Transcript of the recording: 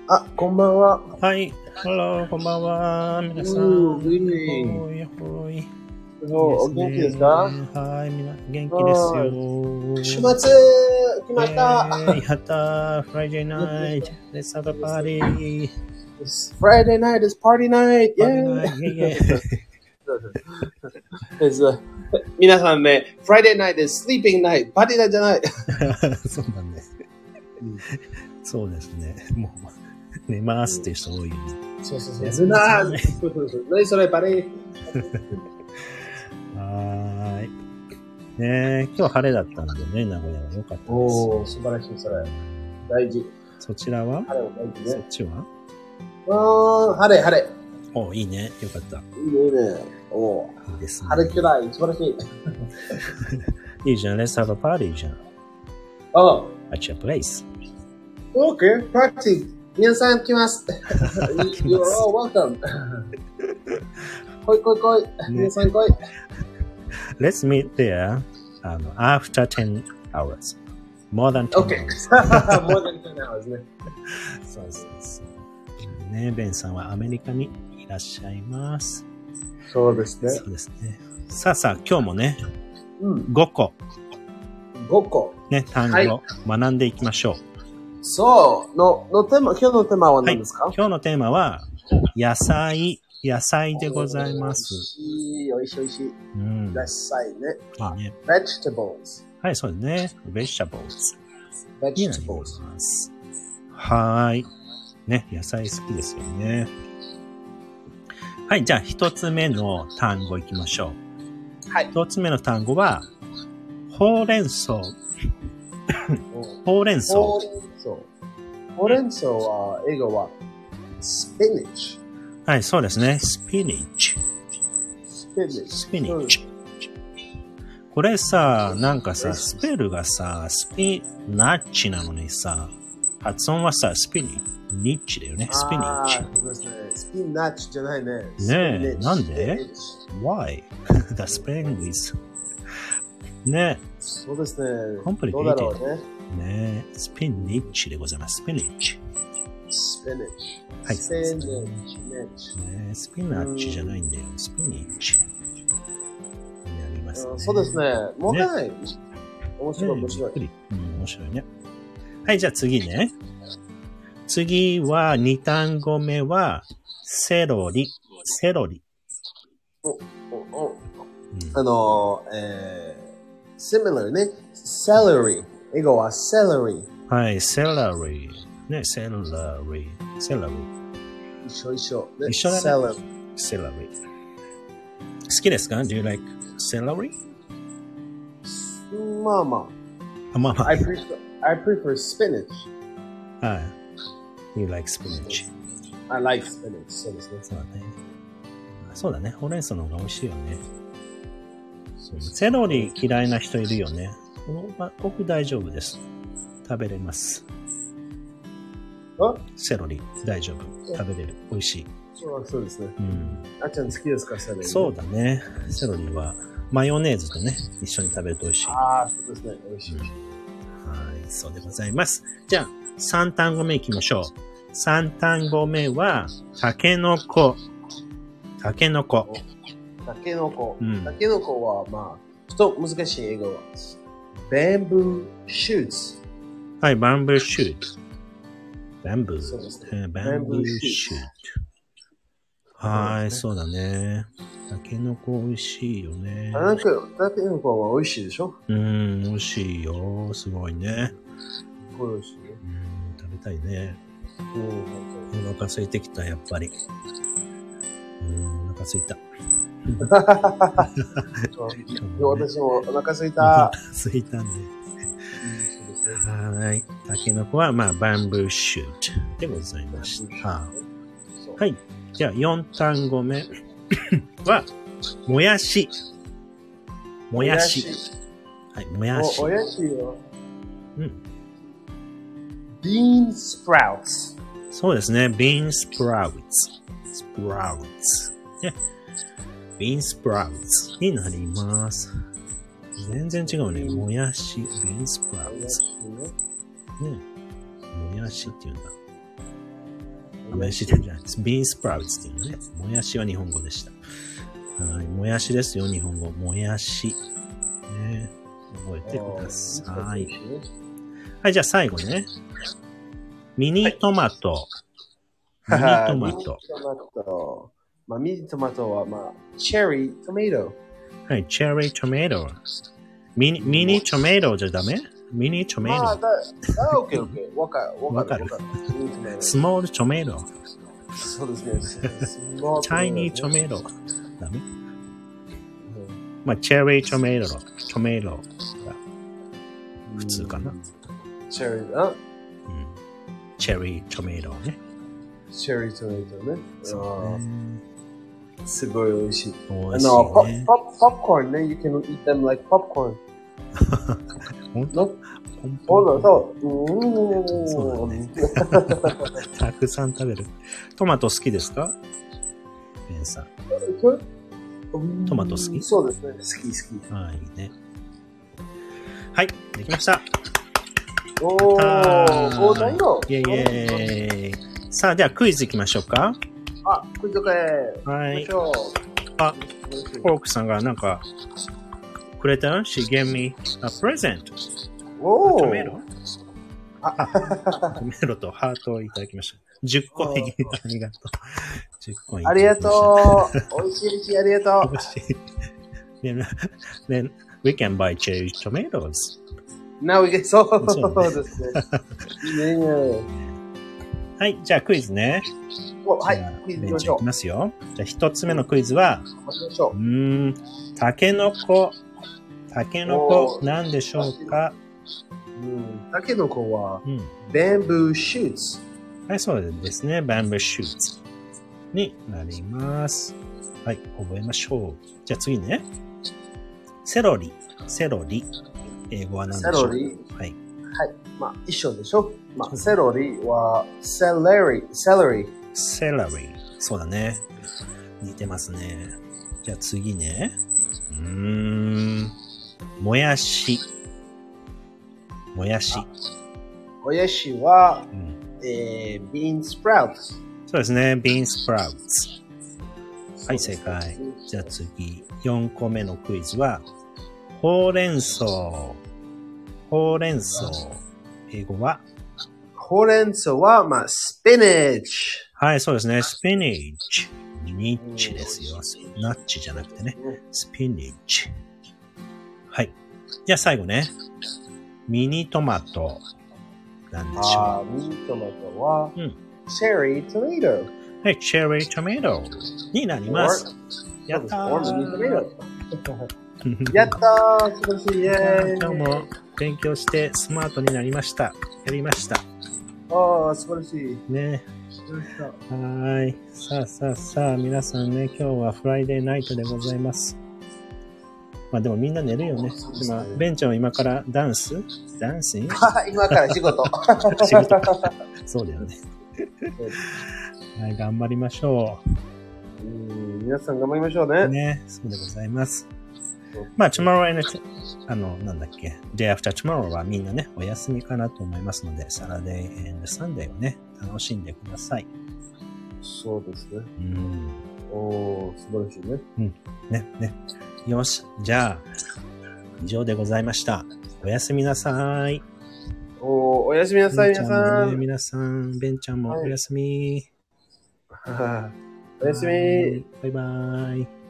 あ、こんばんは。 はい。Hello、こんばんは。皆さん。 Good evening。 ほい。 お元気ですか？ はい。元気です週よ。 末、決まった。 やった。Friday night. Let's have a party. Friday night is party night. Party Yeah. night. 皆さんね、Friday night is sleeping night. パーティーナイトじゃない。 そうだね。そうですね。もう、寝ますっていう人多いよね。 そう。何それ、パレー。 はーい。ね、今日晴れだったんでね、名古屋は良かったです。 おー、素晴らしい、それ。大事。 そちらは？ 晴れは大事ね。 そっちは？ 晴れ。 お、いいね。よかった。 いいね。おー。 いいですね。 晴れくらい、素晴らしい。 いいじゃん。Let's have a party じゃん。 Oh. At your place. Okay, party. 皆さん来ます。You're all welcome. 来い。皆さん来い。 Let's meet there after 10 hours. More than 10 Okay. hours. More than 10 hours ね。 そう。ね、ベンさんはアメリカにいらっしゃいます。 そうですね。 そうですね。さあ、今日もね、 5 個。ね、単語を学んでいきましょう。 そう。今日のテーマは何ですか？ 今日のテーマは、野菜でございます。 おいしい。野菜ね。 いいね。 vegetables。 はい、そうですね。vegetables。 vegetables。 はい。ね、野菜好きですよね。はい、じゃあ一つ目の単語いきましょう。 はい。 一つ目の単語は、ほうれん草。ほうれん草は、英語は、spinach。 はい、そうですね。spinach。これさ、なんかさ、スペルがさ、スピナッチなのにさ、発音はさ、スピニッチだよね。スピニッチ。 そうですね。スピナッチじゃないね。 ねえ、なんで ?Why? The spelling is ね。 そうですね。 コンプリケどうだろうね。 ねえ、スピニッチでございます。スピニッチ。はい。ねえ、スピナッチじゃないんだよ。スピニッチ。やりますね。 そうですね。もう一回。面白い。 面白いね。はい、じゃあ次ね。次は、2単語目は、セロリ。 similar ね。celery。英語は celery。 はい、celery。ね、celery。 一緒。 ね、一緒だね。celery。好きですか？ Do you like celery? まあ。I prefer spinach. はい。You like spinach? I like spinach. そうですね。 そうだね。ほうれん草の方が美味しいよね。セロリ嫌いな人いるよね。僕大丈夫です。食べれます。セロリ大丈夫。食べれる。美味しい。 そうですね。あっちゃん好きですか、セロリ？ そうだね。セロリはマヨネーズとね、一緒に食べると美味しい。 そうですね。美味しい。 はい、そうでございます。じゃあ、3単語目いきましょう。3単語目は、タケノコ。タケノコは、まあ、ちょっと難しい英語は。bamboo shoots。 はい、バンブーシュート。バンブー。 そうですね。 バンブーシュート。はい、そうだね。タケノコ美味しいよね。 タケノコは美味しいでしょ？ 美味しいよ。すごいね。 美味しいね。 食べたいね。お腹空いてきた、やっぱり。お腹空いた。 私もお腹空いた。 空いたんで。はい。タケノコは、まあ、バンブーシュートでございました。はい。じゃあ、4単語目は、もやし。はい、もやし。 もやしは、 bean sprouts。 そうですね。bean sprouts。ね。bean sprouts になります。全然違うね。もやし、bean sprouts。ね。もやしって言うんだ。 ね。 もやしじゃないです。ビーンスプラウツっていうのね。もやしは日本語でした。はい。もやしですよ、日本語。もやし。ね。覚えてください。はい、じゃあ最後ね。ミニトマト。ミニトマト。 ミニトマト。まあ、ミニトマトは、まあ、チェリートマト。 はい、チェリートマト。ミニトマトじゃダメ？ミニトマト。 ああ、オッケーオッケー。わかる。 スモールトマト。 そうですね。 チャイニートマト。ダメ？まあ、チェリートマトが普通かな。 チェリー、あ？ チェリートマトね。 チェリートマトね。 そうね。 すごい美味しい。 美味しいね。 popcorn ね。You can eat them like popcorn. 本当？ そう。 そうだね。たくさん食べる。トマト好きですか？ベンさん。トマト好き？ そうですね。好き。 はい、いいね。はい、できました。 おー、何よ。 イェイイェイ。さあ、ではクイズいきましょうか。 あ、クイズかい。 はい。 行きましょう。 あ、コロックさんがなんかくれたの？ She gave me a present. おー。 トメロ？トメロとハートをいただきました。10個入り。ありがとう。10個入り。 ありがとう。美味しいし、ありがとう。 美味しい。Then we can buy cherry tomatoes. Now we get そうですね。いいね。 はい、じゃあクイズね。 はい、クイズいきましょう。 いきますよ。じゃあ一つ目のクイズは、タケノコなんでしょうか？ タケノコは、バンブーシューツ。 はい、そうですね。バンブーシューツになります。はい、覚えましょう。じゃあ次ね。セロリ。英語は何でしょう？セロリ。はい。 はい。まあ、一緒でしょ？まあ、セロリは、セレリ。 そうだね。似てますね。じゃあ次ね。もやしは、ビーンスプラウツ。 そうですね。ビーンスプラウツ。はい、正解。じゃあ次、4個目のクイズは、ほうれん草。英語は？ ほうれん草は、まあ、スピナッチ。 はい、そうですね。スピニッチ。ニッチですよ。ナッチじゃなくてね。スピニッチ。はい。じゃあ最後ね。ミニトマト。なんでしょう？ ミニトマトは、チェリートマト。 はい、チェリートマトになります。やったー。 やったー、素晴らしい。イェーイ。 今日も勉強してスマートになりました。やりました。 ああ、素晴らしい。 ね。はい。さあ、皆さんね、今日はフライデーナイトでございます。まあでもみんな寝るよね。今、ベンちゃんは今からダンス今から仕事。 そうだよね。はい、頑張りましょう。皆さん頑張りましょうね。 ね、そうでございます。まあ、tomorrow and なんだっけ、day after tomorrow はみんなね、お休みかなと思いますので、Saturday and Sunday をね、楽しんでください。 そうですね。素晴らしいね。 ね。よし、じゃあ、以上でございました。おやすみなさい。 おやすみなさい、皆さん。 皆さん、ベンちゃんもおやすみ。 おやすみ。 バイバイ。